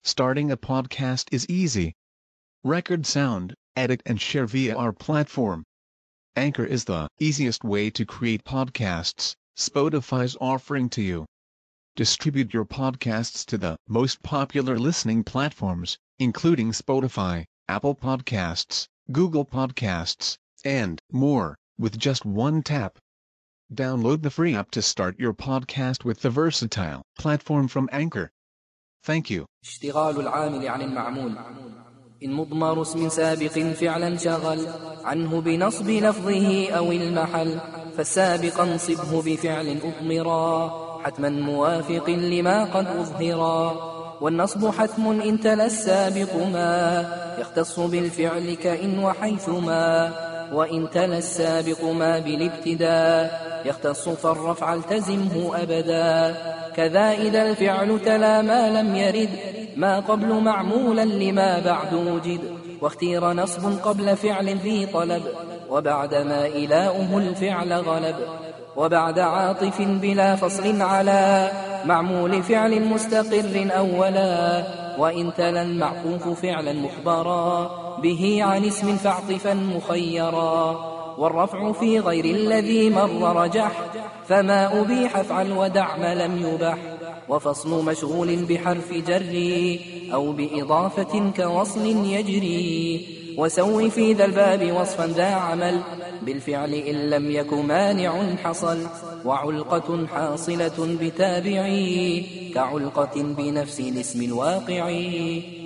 Starting a podcast is easy. Record sound, edit and share via our platform. Anchor is the easiest way to create podcasts Spotify's offering to you. Distribute your podcasts to the most popular listening platforms, including Spotify, Apple Podcasts, Google Podcasts, and more, with just one tap. Download the free app to start your podcast with the versatile platform from Anchor. Thank you. اشتغال العامل عن المعمول. إن مضمر اسم سابق فعلا شغل عنه بنصب لفظه أو المحل، فالسابق انصبه بفعل أضمرا حتما موافق لما قد أظهرا. والنصب حتم إن تلا السابق ما يختص بالفعل كإن وحيثما، وإن تلا السابق ما بالابتداء يختص فالرفع التزمه أبدا. كذا إذا الفعل تلا ما لم يرد ما قبل معمولا لما بعد وجد، واختير نصب قبل فعل ذي طلب وبعد ما إلاؤه الفعل غلب، وبعد عاطف بلا فصل على معمول فعل مستقر أولا، وإن تلا المعطوف فعلا مخبرا به عن اسم فاعطفا مخيرا. والرفع في غير الذي مر رجح فما أبيح افعل ودع ما لم يبح. وفصل مشغول بحرف جر أو بإضافة كوصل يجري. وسوي في ذا الباب وصفا ذا عمل بالفعل إن لم يك مانع حصل. وعلقة حاصلة بتابعي كعلقة بنفس الاسم الواقعي.